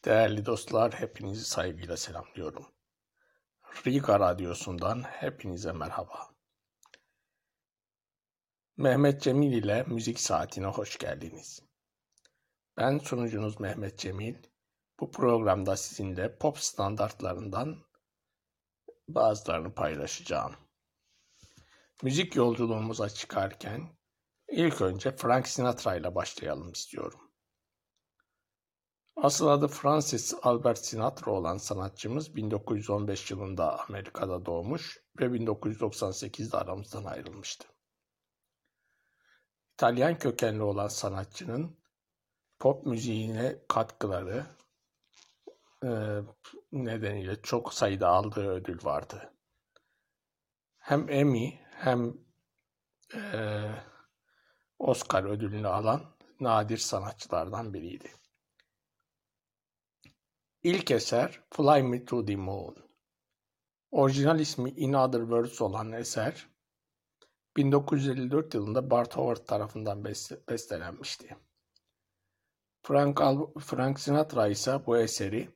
Değerli dostlar, hepinizi saygıyla selamlıyorum. Riga Radyosu'ndan hepinize merhaba. Mehmet Cemil ile Müzik Saati'ne hoş geldiniz. Ben sunucunuz Mehmet Cemil. Bu programda sizinle pop standartlarından bazılarını paylaşacağım. Müzik yolculuğumuza çıkarken ilk önce Frank Sinatra ile başlayalım istiyorum. Asıl adı Francis Albert Sinatra olan sanatçımız 1915 yılında Amerika'da doğmuş ve 1998'de aramızdan ayrılmıştı. İtalyan kökenli olan sanatçının pop müziğine katkıları nedeniyle çok sayıda aldığı ödül vardı. Hem Emmy hem Oscar ödülünü alan nadir sanatçılardan biriydi. İlk eser Fly Me to the Moon. Orijinal ismi In Other Words olan eser 1954 yılında Bart Howard tarafından bestelenmişti. Frank Sinatra ise bu eseri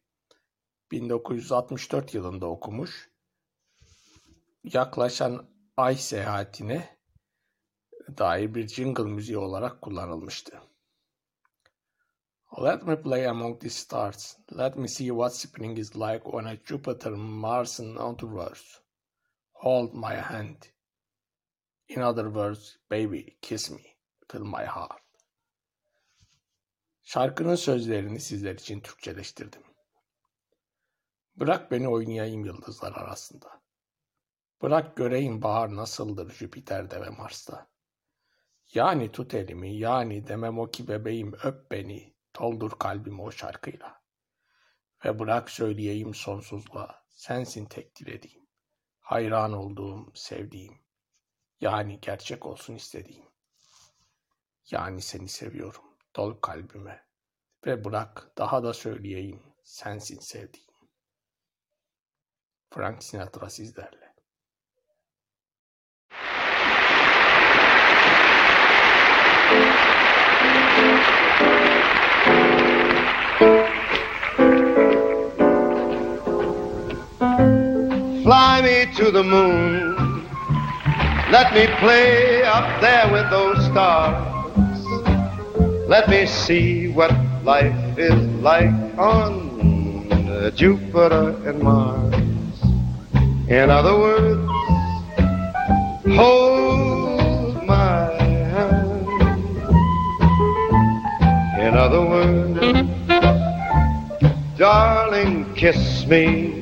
1964 yılında okumuş, yaklaşan ay seyahatine dair bir jingle müziği olarak kullanılmıştı. Let me play among the stars. Let me see what spring is like on a Jupiter, Mars and other. Hold my hand. In other words, baby, kiss me. Fill my heart. Şarkının sözlerini sizler için Türkçeleştirdim. Bırak beni oynayayım yıldızlar arasında. Bırak göreyim bahar nasıldır Jüpiter'de ve Mars'ta. Yani tut elimi, yani demem o ki bebeğim öp beni. Doldur kalbimi o şarkıyla. Ve bırak söyleyeyim sonsuzluğa, sensin tek dilediğim. Hayran olduğum, sevdiğim. Yani gerçek olsun istediğim. Yani seni seviyorum, dol kalbime. Ve bırak daha da söyleyeyim, sensin sevdiğim. Frank Sinatra sizlerle. Fly me to the moon. Let me play up there with those stars. Let me see what life is like on Jupiter and Mars. In other words, hold my hand. In other words, darling, kiss me.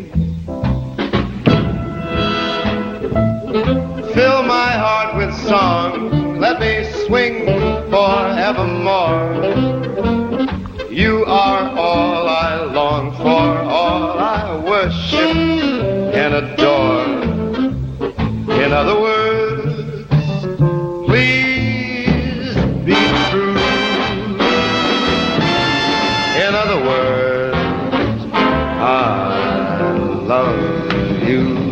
Fill my heart with song, let me swing forevermore. You are all I long for, all I worship and adore. In other words, please be true. In other words, I love you.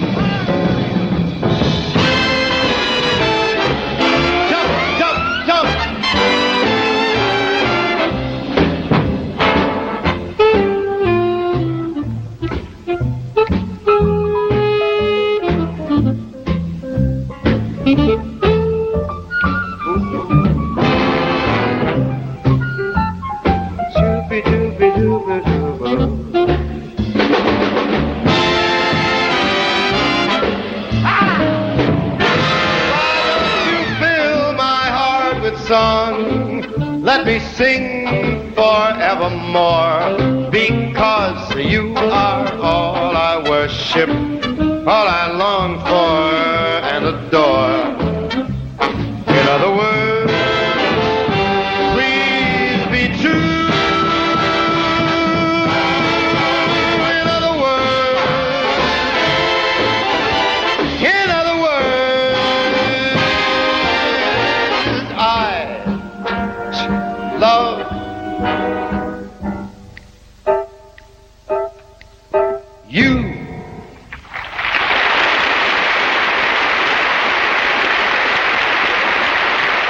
Song, let me sing forevermore, because you are all I worship, all I long for and adore. In other words, please be true. In other words, I love you.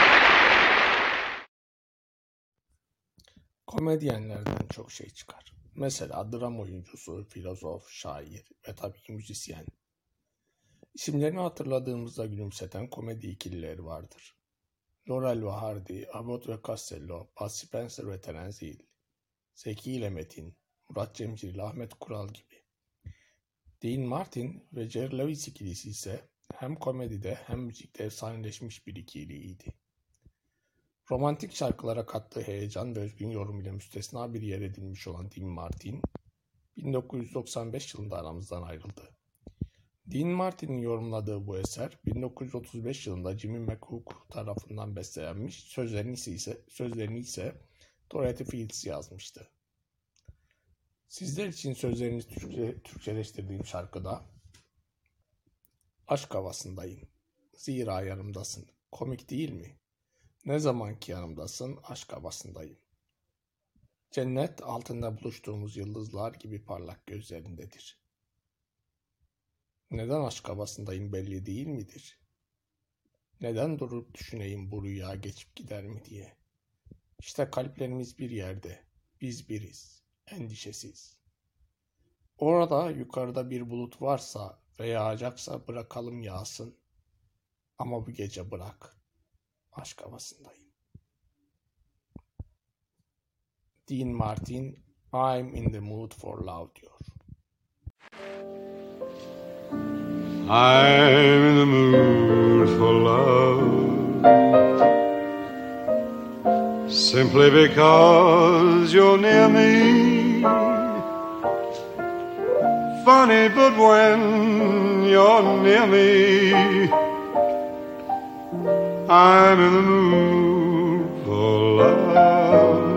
Komedyenlerden çok şey çıkar. Mesela dram oyuncusu, filozof, şair ve tabii ki müzisyen. İsimlerini hatırladığımızda gülümseten komedi ikilileri vardır. Laurel ve Hardy, Abbott ve Costello, Bud Spencer ve Terence Hill, Zeki ile Metin, Murat Cemcir ile Ahmet Kural gibi. Dean Martin ve Jerry Lewis ikilisi ise hem komedide hem müzikte efsaneleşmiş bir ikiliydi. Romantik şarkılara kattığı heyecan ve özgün yorum ile müstesna bir yer edinmiş olan Dean Martin, 1995 yılında aramızdan ayrıldı. Dean Martin'in yorumladığı bu eser, 1935 yılında Jimmy McCook tarafından bestelenmiş, sözlerini ise Dorothy Fields yazmıştı. Sizler için sözlerini Türkçeleştirdiğim şarkıda aşk havasındayım. Zira yanımdasın. Komik değil mi? Ne zaman ki yanımdasın aşk havasındayım. Cennet altında buluştuğumuz yıldızlar gibi parlak gözlerindedir. Neden aşk havasındayım belli değil midir? Neden durup düşüneyim bu rüya geçip gider mi diye. İşte kalplerimiz bir yerde, biz biriz, endişesiz. Orada yukarıda bir bulut varsa ve yağacaksa bırakalım yağsın. Ama bu gece bırak, aşk havasındayım. Dean Martin, I'm in the mood for love diyor. I'm in the mood for love, simply because you're near me. Funny, but when you're near me, I'm in the mood for love.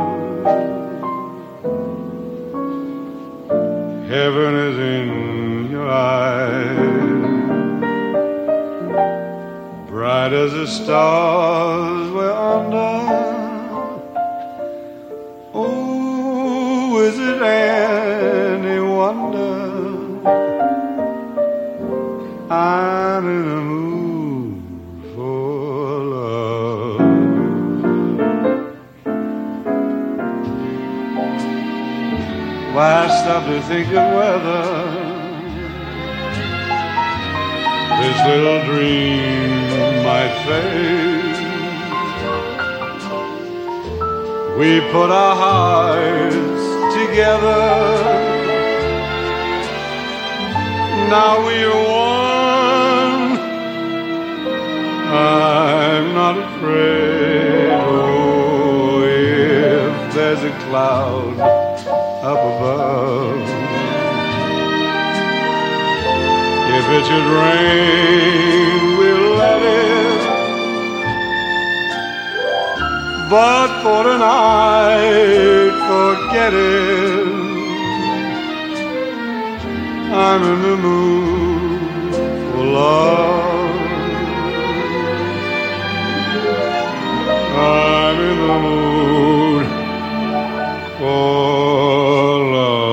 Heaven is in your eyes, bright as the stars we're under. Oh, is it any wonder I'm in the mood for love? Why stop to think of whether this little dream might fade? We put our hearts together, now we're one. I'm not afraid, oh, if there's a cloud up above, if it should rain, we'll let it. But for tonight, forget it. I'm in the mood for love. I'm in the mood for love.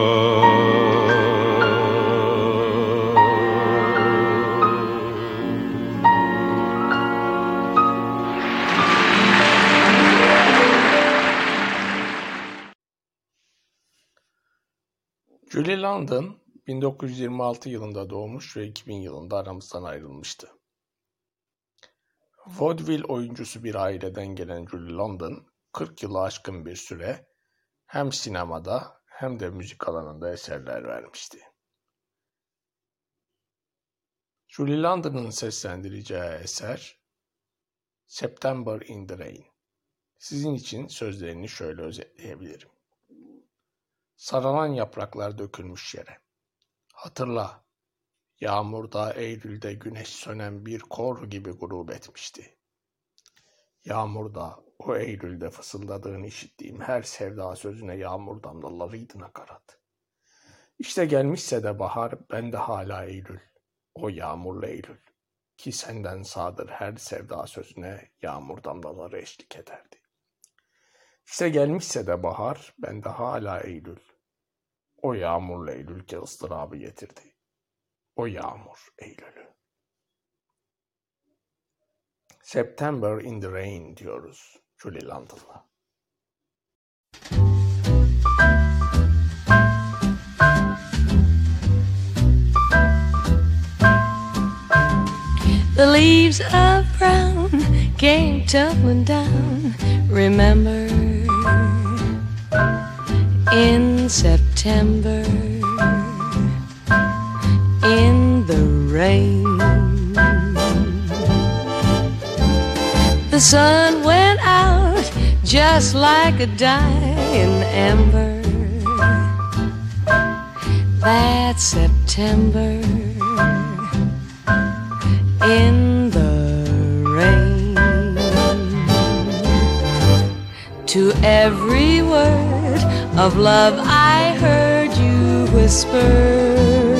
Julie London 1926 yılında doğmuş ve 2000 yılında aramızdan ayrılmıştı. Vaudeville oyuncusu bir aileden gelen Julie London, 40 yılı aşkın bir süre hem sinemada hem de müzik alanında eserler vermişti. Julie London'ın seslendireceği eser September in the Rain. Sizin için sözlerini şöyle özetleyebilirim. Saralan yapraklar dökülmüş yere. Hatırla, yağmurda Eylül'de güneş sönen bir kor gibi gurub etmişti. Yağmurda, o Eylül'de fısıldadığını işittiğim her sevda sözüne yağmur damlalarıydı nakarat. İşte gelmişse de bahar, ben de hala Eylül, o yağmurlu Eylül, ki senden sağdır her sevda sözüne yağmur damlaları eşlik ederdi. İşte gelmişse de bahar, ben de hala Eylül, o yağmurlu Eylül ki ıstırabı getirdi. O yağmur Eylül'ü. September in the Rain diyoruz Julie London'la. leaves of brown came tumbling down. Remember, in September, in the rain, the sun went out just like a dying ember. That September, in the rain. To every word of love I heard you whisper,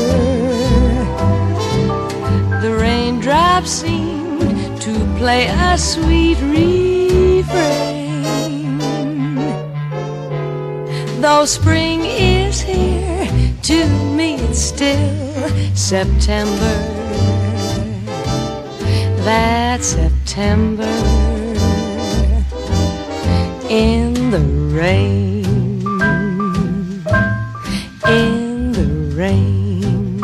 the raindrops seemed to play a sweet refrain. Though spring is here, to me it's still September. That September, in the rain, in the rain,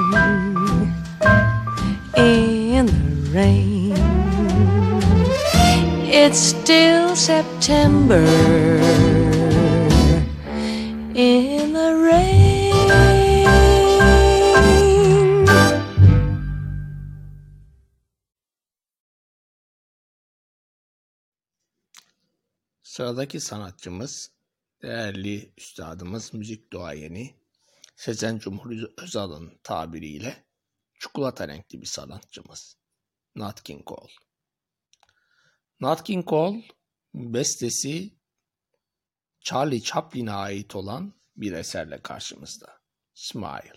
in the rain. It's still September, in the rain. Sıradaki sanatçımız, değerli üstadımız, müzik duayeni Sezen Cumhur Özal'ın tabiriyle çikolata renkli bir sanatçımız Nat King Cole. Nat King Cole bestesi Charlie Chaplin'e ait olan bir eserle karşımızda. Smile.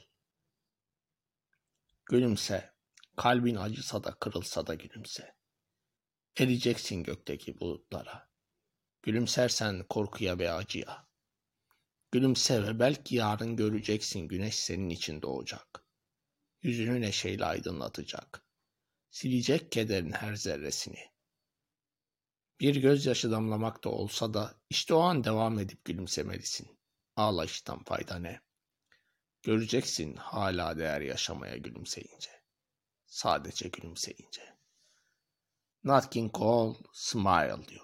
Gülümse, kalbin acısa da kırılsa da gülümse. Ereceksin gökteki bulutlara. Gülümsersen korkuya ve acıya. Gülümse ve belki yarın göreceksin güneş senin için doğacak. Yüzünü neşeyle aydınlatacak. Silecek kederin her zerresini. Bir gözyaşı damlamak da olsa da işte o an devam edip gülümsemelisin. Ağlayıştan fayda ne? Göreceksin hala değer yaşamaya gülümseyince. Sadece gülümseyince. Nat King Cole, Smile diyor.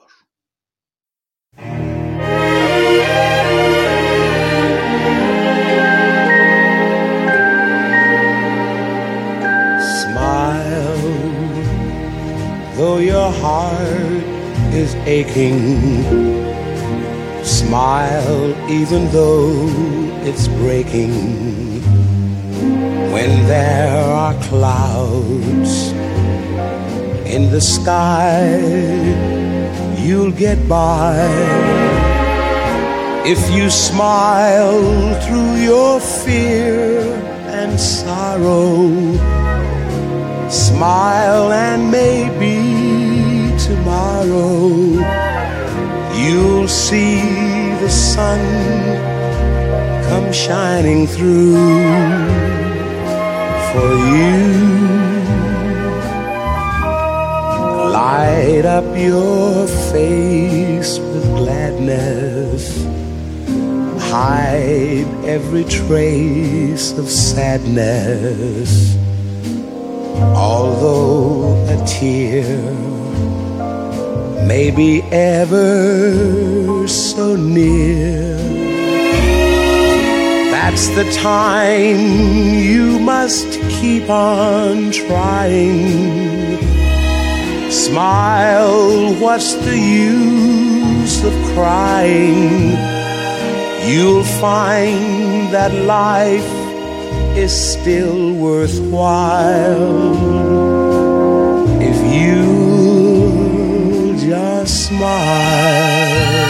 Smile, though your heart is aching. Smile, even though it's breaking. When there are clouds in the sky, you'll get by if you smile through your fear and sorrow. Smile and maybe tomorrow you'll see the sun come shining through for you. Light up your face with gladness. Hide every trace of sadness. Although a tear may be ever so near, that's the time you must keep on trying. Smile, what's the use of crying? You'll find that life is still worthwhile if you just smile.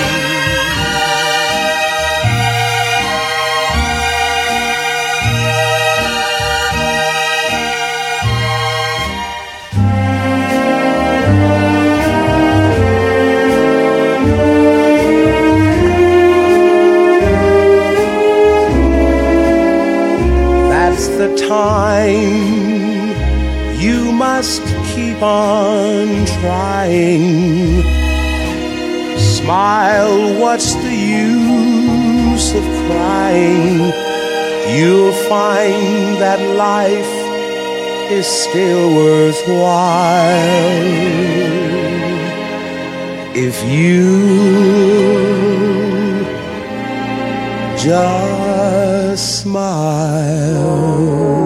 The time you must keep on trying. Smile, what's the use of crying? You'll find that life is still worthwhile if you just smile.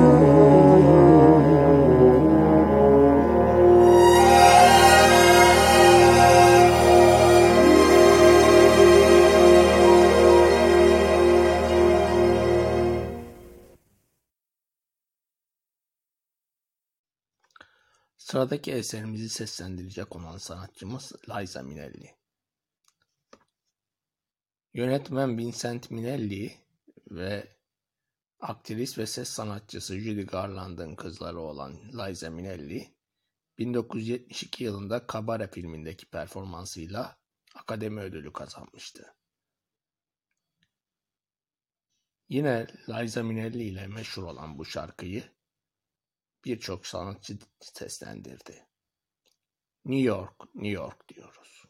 Sıradaki eserimizi seslendirecek olan sanatçımız Liza Minnelli. Yönetmen Vincent Minnelli ve aktris ve ses sanatçısı Judy Garland'ın kızları olan Liza Minnelli, 1972 yılında Cabaret filmindeki performansıyla Akademi Ödülü kazanmıştı. Yine Liza Minnelli ile meşhur olan bu şarkıyı birçok sanatçı seslendirdi. New York, New York diyoruz.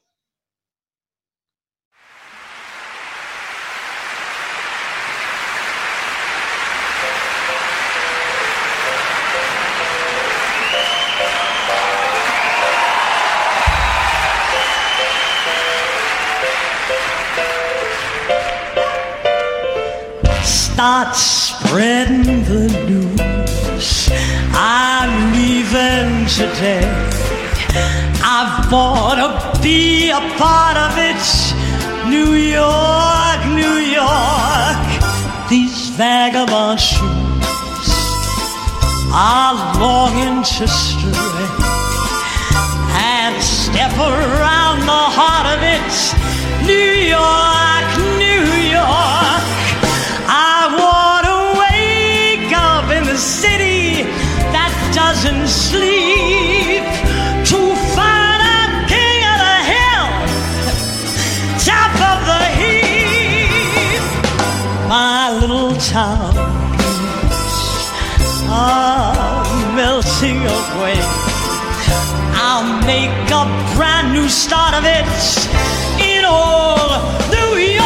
Start spreading the news. I'm leaving today. I've bought to be a part of it. New York, New York. These vagabond shoes are longing to stray and step around the heart of it. New York, New York. I want to wake up in the city that doesn't sleep, to find a king of the hill, top of the heap. My little town are melting away. I'll make a brand new start of it in old New York.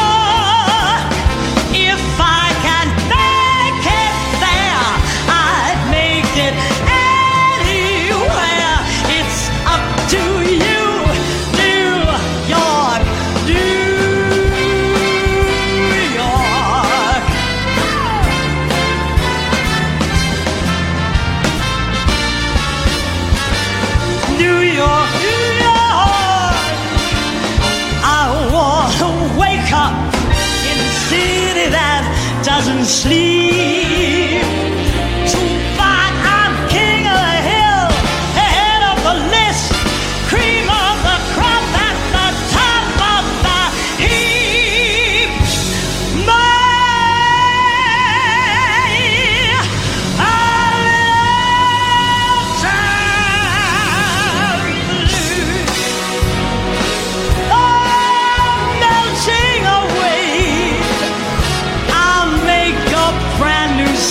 If I can make it there, I'd make it anywhere. It's up to you, New York, New York. New York, New York. I want to wake up in a city that doesn't sleep, to find I'm king of the hill, head of the list, cream of the crop, at the top of the heap. Melting away. I'll make a brand new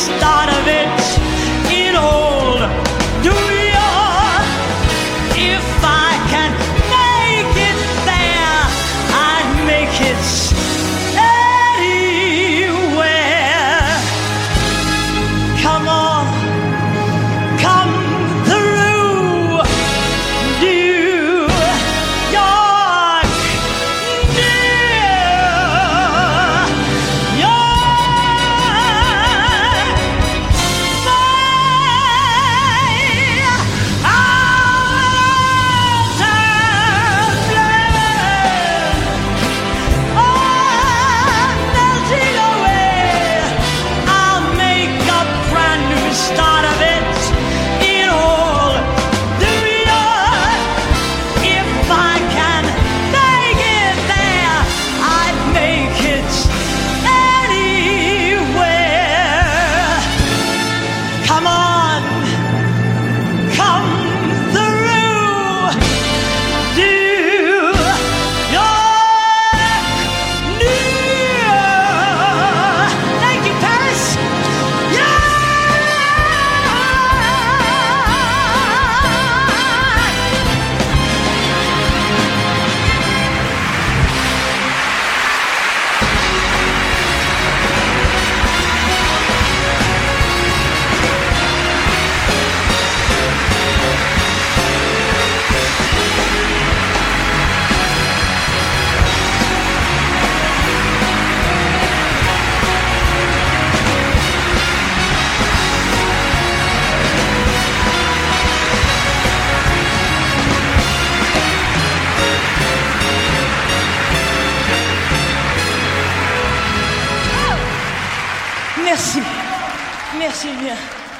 Merci. Merci bien.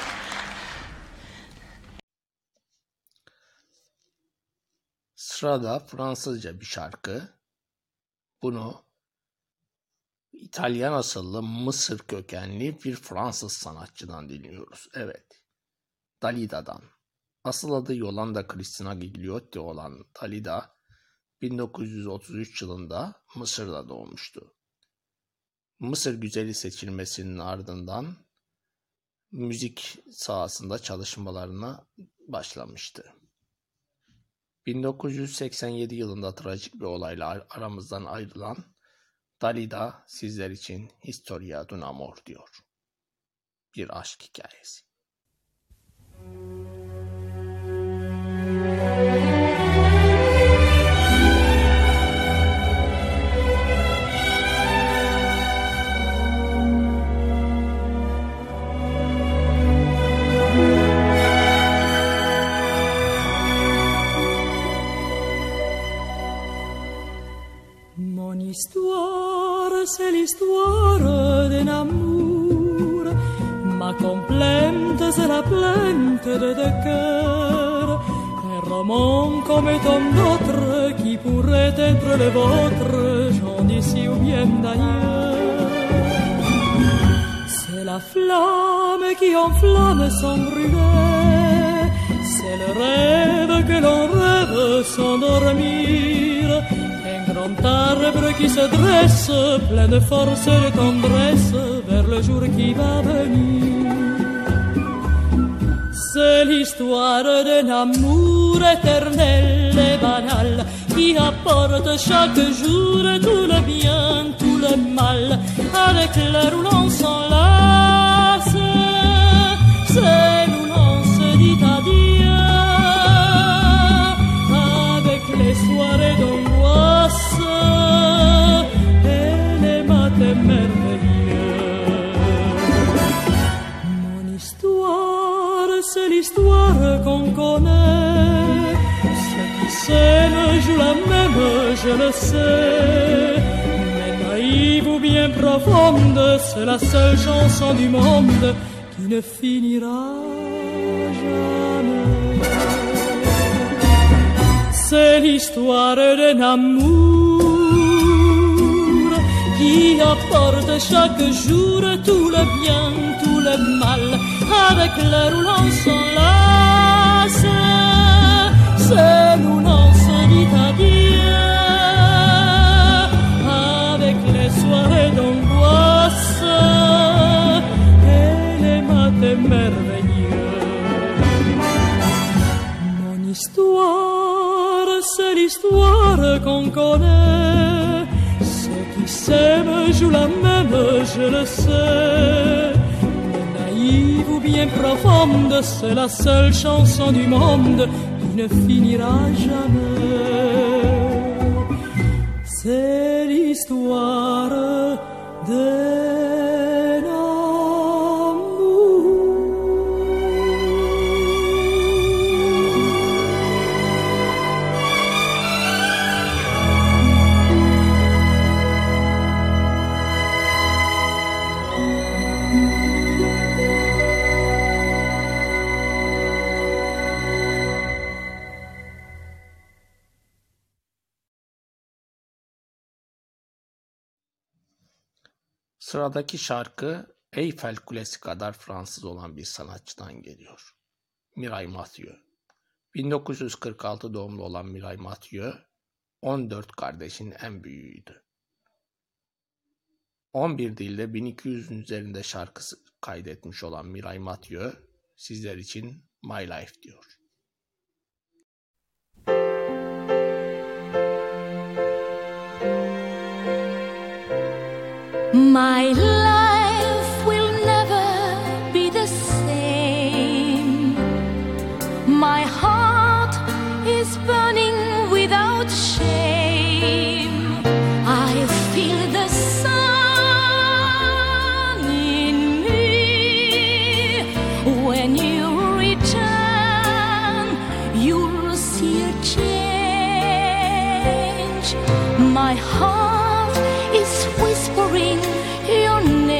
Sırada Fransızca bir şarkı. Bunu İtalyan asıllı Mısır kökenli bir Fransız sanatçıdan dinliyoruz. Evet, Dalida'dan. Asıl adı Yolanda Cristina Gigliotti olan Dalida, 1933 yılında Mısır'da doğmuştu. Mısır güzeli seçilmesinin ardından müzik sahasında çalışmalarına başlamıştı. 1987 yılında trajik bir olayla aramızdan ayrılan Dalida sizler için Historia d'un Amor diyor. Bir aşk hikayesi. Mon histoire, c'est l'histoire d'un amour. Ma complainte, c'est la plainte de deux cœurs. Un roman comme tant d'autres qui pourrait être le vôtre, j'en d'ici ou bien d'ailleurs. C'est la flamme qui enflamme sans brûler. C'est le rêve que l'on rêve sans dormir. Grand arbre qui se dresse, plein de force et de tendresse, vers le jour qui va venir. C'est l'histoire d'un amour éternel et banal, qui apporte chaque jour tout le bien, tout le mal, avec l'heure où l'on s'enlace, c'est où l'on se dit adieu, avec les soirées d'angoisse et les matins merveilleux. Mon histoire, c'est l'histoire qu'on connaît. Ceux qui s'aiment jouent la même, je le sais. Mais naïve ou bien profonde, c'est la seule chanson du monde qui ne finira jamais. C'est l'histoire d'un amour qui apporte chaque jour tout le bien, tout le mal, avec l'heure où l'on s'enlace, c'est où l'on se dit adieu, avec les soirées d'angoisse et les matins merveilleux. Mon histoire, c'est l'histoire qu'on connaît. Ceux qui s'aiment jouent la même, je le sais. Mais naïve ou bien profonde, c'est la seule chanson du monde qui ne finira jamais. C'est l'histoire d'un amour. Sıradaki şarkı Eyfel Kulesi kadar Fransız olan bir sanatçıdan geliyor. Mireille Mathieu. 1946 doğumlu olan Mireille Mathieu, 14 kardeşin en büyüğüydü. 11 dilde 1200'ün üzerinde şarkısı kaydetmiş olan Mireille Mathieu, sizler için My Life diyor. My life will never be the same. My heart is burning without shame. I feel the sun in me. When you return, you'll see a change. My heart is whispering your name.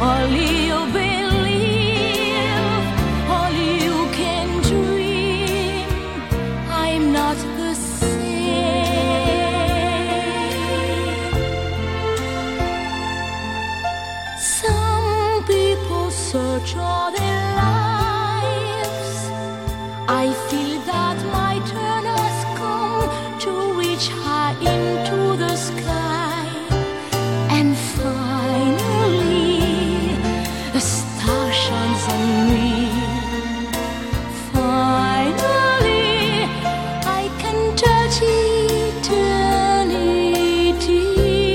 all you believe, all you can dream. I'm not the same. Some people search all their lives. I feel that my turn has come to reach high into the sky, and finally a star shines on me. Finally I can touch eternity.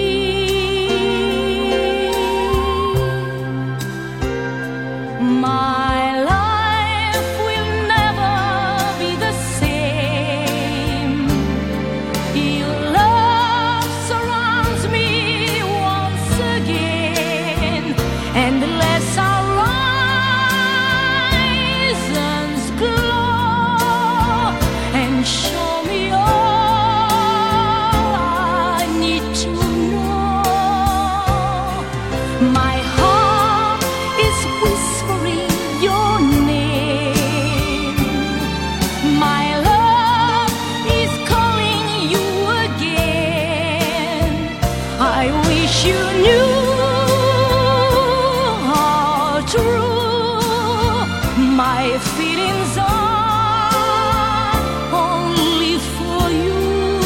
My life will never be the same. Your love surrounds me once again, and the less our horizons glow and show me all I need to know. My heart is whispering your name. My love is calling you again. I wish you knew how true my feelings are, only for you.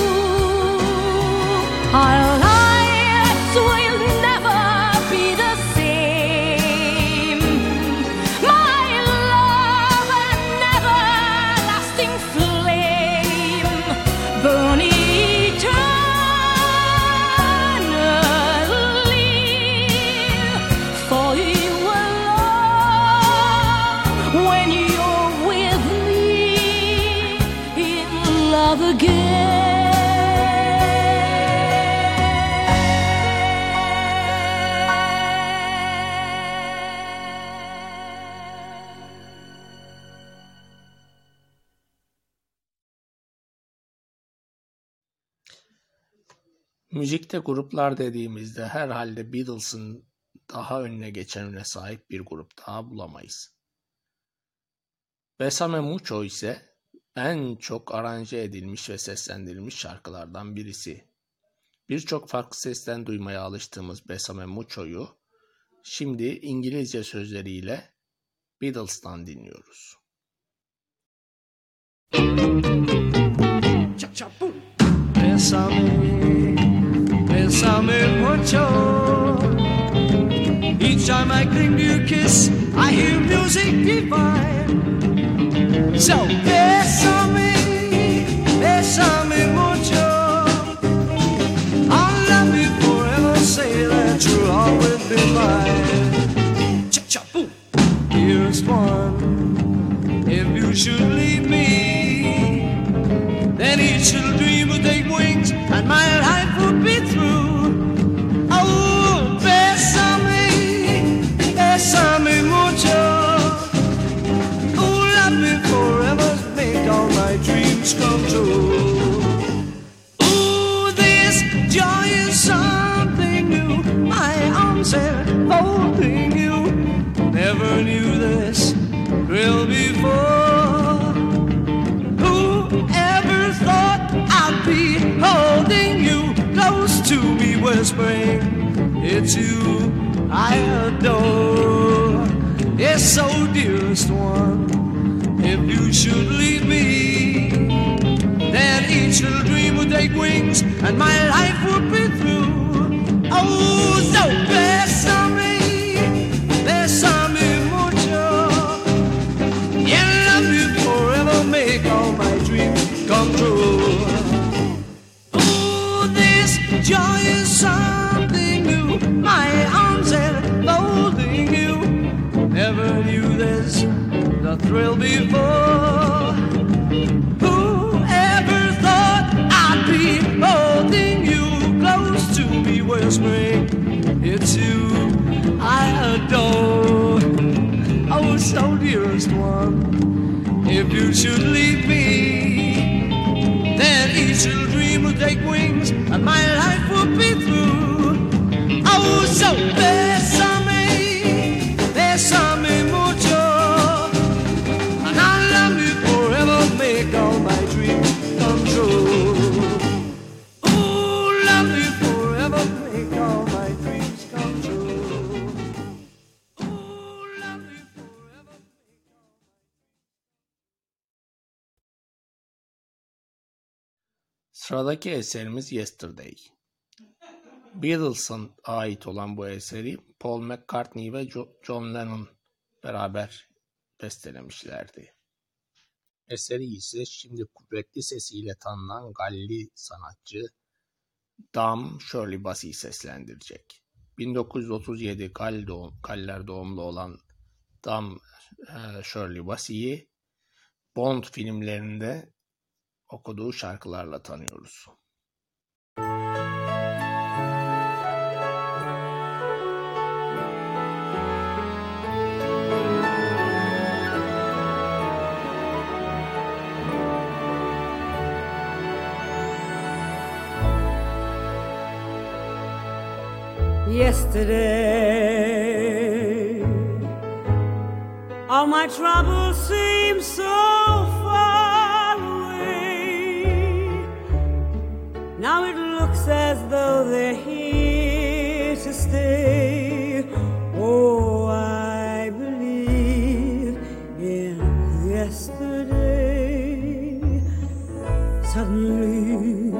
Our lives will never be the same. My love, an everlasting flame, burn eternally for you alone. When you're with me in love again. Müzikte gruplar dediğimizde herhalde Beatles'ın daha önüne geçenine sahip bir grup daha bulamayız. Bésame Mucho ise en çok aranje edilmiş ve seslendirilmiş şarkılardan birisi. Birçok farklı sesten duymaya alıştığımız Bésame Mucho'yu şimdi İngilizce sözleriyle Beatles'tan dinliyoruz. Bésame mucho. Each time I cling to your kiss, I hear music divine. So bésame, bésame mucho. I'll love you forever, say that you'll always be mine. Cha-cha-boom. Here's one. If you should leave me, then each little dream would take wings and my life would be through. Oh, bésame, bésame mucho. Oh, love me forever, make all my dreams come true. Oh, this joy is something new. My arms enfolding you. Never knew this thrill before. Whoever thought I'd be holding you close to me, whispering, it's you I adore. Yes, so dearest one, if you should leave me, then each little dream would take wings and my life would be through. Oh, so bésame, bésame mucho. Yeah, love you forever, make all my dreams come true. Oh, this joy is something new. My arms enfolding you. Never knew this, the thrill before. Whoever thought I'd be holding you close to me, whispering, it's you I adore. Oh, so dearest one, if you should leave me, then each little dream will take wings and my life will be through. Oh, so bésame, Sıradaki eserimiz Yesterday. Beatles'a ait olan bu eseri Paul McCartney ve John Lennon beraber bestelemişlerdi. Eseri ise şimdi kuvvetli sesiyle tanınan Galli sanatçı Dame Shirley Bassey seslendirecek. 1937 Galler doğumlu olan Dame Shirley Bassey'i Bond filmlerinde okuduğu şarkılarla tanıyoruz. Yesterday, all my troubles seem so far away. Now it looks as though they're here to stay. Oh, I believe in yesterday. Suddenly,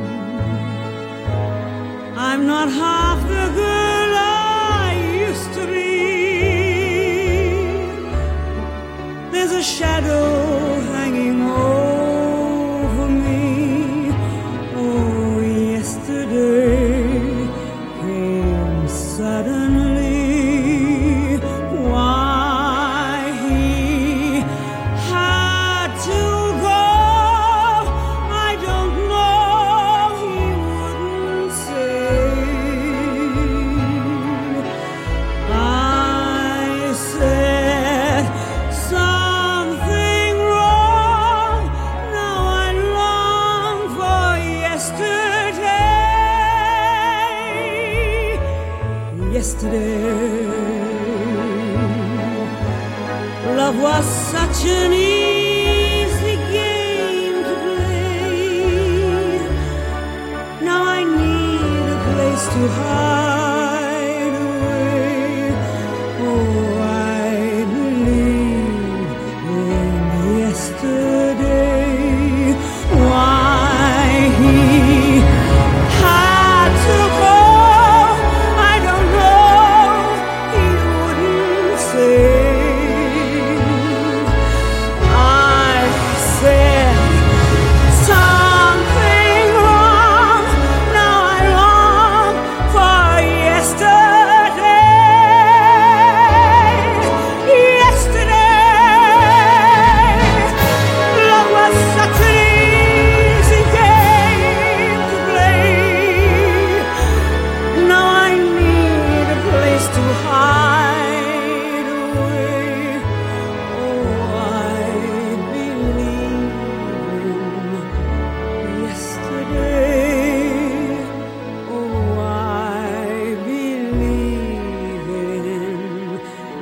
I'm not half the girl I used to be. There's a shadow hanging over me. Oh, yesterday came suddenly. Why he had to go, I don't know. He wouldn't say. I said something wrong. Now I long for yesterday. Yesterday, love was such an easy game to play. Now I need a place to hide away. Oh, I believe in yesterday. Why he had to go, I don't know. He wouldn't say. I said something wrong. Now I long for yesterday. Yesterday, love was such an easy game to play. Now I need a place to hide away. Oh, I believe in yesterday. Oh, I believe in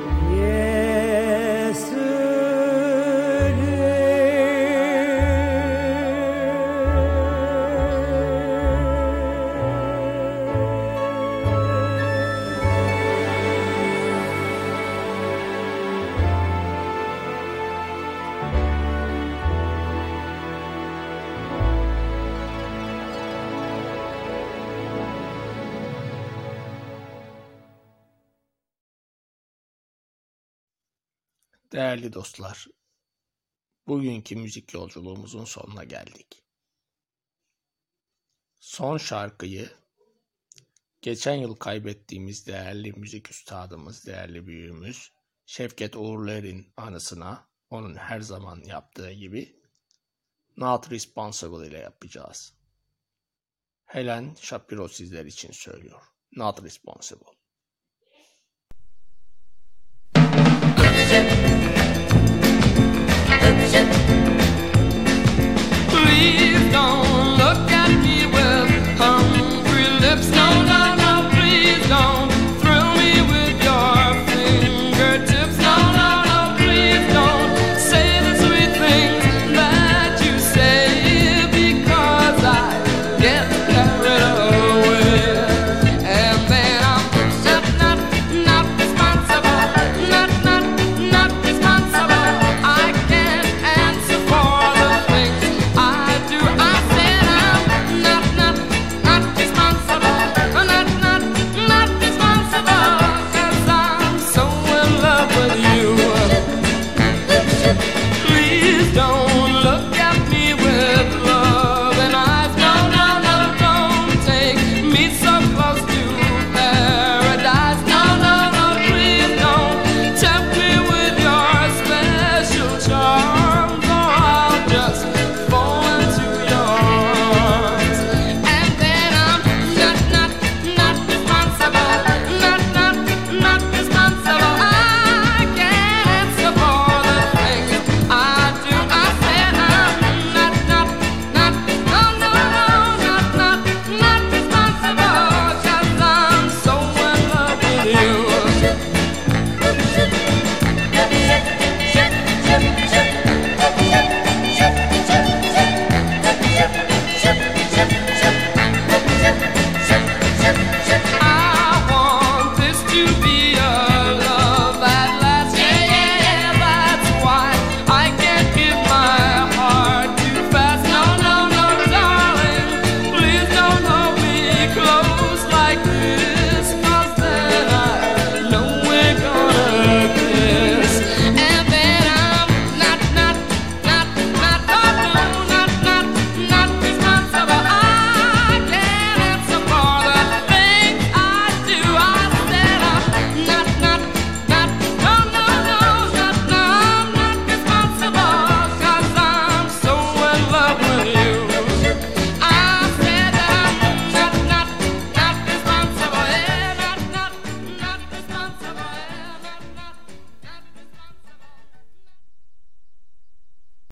Değerli dostlar, bugünkü müzik yolculuğumuzun sonuna geldik. Son şarkıyı geçen yıl kaybettiğimiz değerli müzik üstadımız, değerli büyüğümüz Şevket Uğurluer'in anısına onun her zaman yaptığı gibi Not Responsible ile yapacağız. Helen Shapiro sizler için söylüyor. Not Responsible.